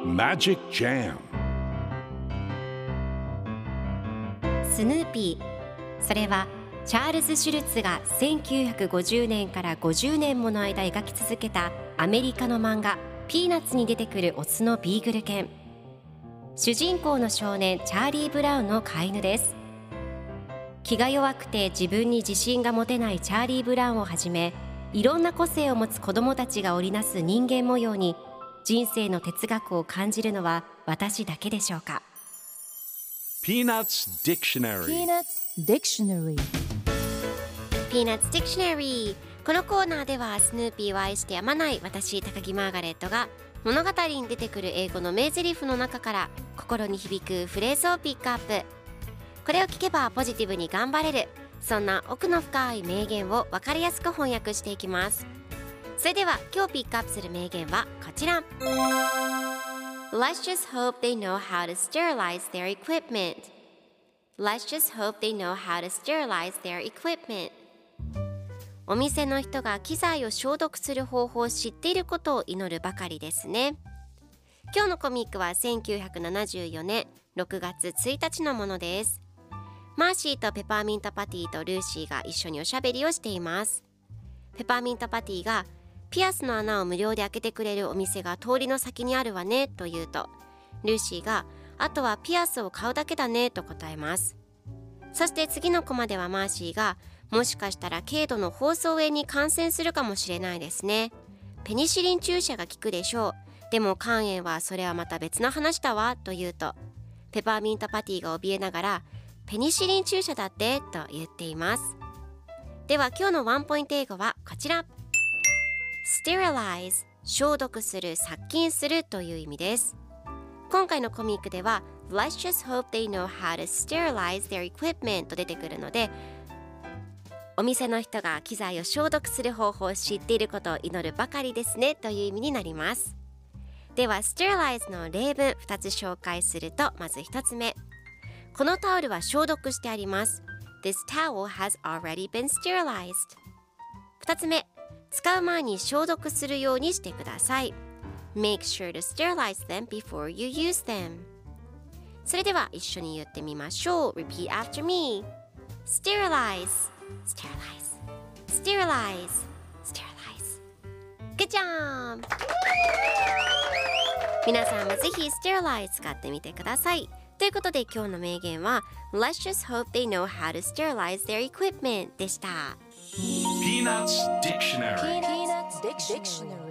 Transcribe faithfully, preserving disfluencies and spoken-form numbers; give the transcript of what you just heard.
Magic Jam スヌーピー、それはチャールズ・シュルツがせんきゅうひゃくごじゅうねんからごじゅうねんもの間描き続けたアメリカの漫画ピーナッツに出てくるオスのビーグル犬。主人公の少年チャーリー・ブラウンの飼い犬です。気が弱くて自分に自信が持てないチャーリー・ブラウンをはじめ、いろんな個性を持つ子どもたちが織りなす人間模様に人生の哲学を感じるのは私だけでしょうか。 Peanuts Dictionary Peanuts Dictionary Peanuts Dictionary。 このコーナーではスヌーピーを愛してやまない私高木マーガレットが物語に出てくる英語の名台詞の中から心に響くフレーズをピックアップ。これを聞けばポジティブに頑張れる、そんな奥の深い名言を分かりやすく翻訳していきます。それでは今日ピックアップする名言はこちら。 Let's just hope they know how to sterilize their equipment. Let's just hope they know how to sterilize their equipment. お店の人が機材を消毒する方法を知っていることを祈るばかりですね。今日のコミックはせんきゅうひゃくななじゅうよねんろくがつついたちのものです。マーシーとペパーミントパティとルーシーが一緒におしゃべりをしています。ペパーミントパティがピアスの穴を無料で開けてくれるお店が通りの先にあるわねと言うと、ルーシーがあとはピアスを買うだけだねと答えます。そして次のコマではマーシーがもしかしたら軽度の放送炎に感染するかもしれないですね。ペニシリン注射が効くでしょう。でも肝炎はそれはまた別の話だわと言うと、ペパーミントパティが怯えながらペニシリン注射だってと言っています。では今日のワンポイント英語はこちら。 Sterilize、 消毒する、殺菌するという意味です。今回のコミックでは Let's just hope they know how to sterilize their equipment と出てくるので、お店の人が機材を消毒する方法を知っていることを祈るばかりですねという意味になります。では sterilize の例文ふたつ紹介すると、まずひとつめ、このタオルは消毒してあります。 This towel has already been sterilized。 ふたつめ、使う前に消毒するようにしてください。 Make sure to sterilize them before you use them。 それでは一緒に言ってみましょう。 Repeat after me。 Sterilize Sterilize Sterilize Sterilize。 Good job。 皆さんもぜひ Sterilize 使ってみてください。ということで今日の名言は Let's just hope they know how to sterilize their equipment でした。 Peanuts Dictionary Peanuts Dictionary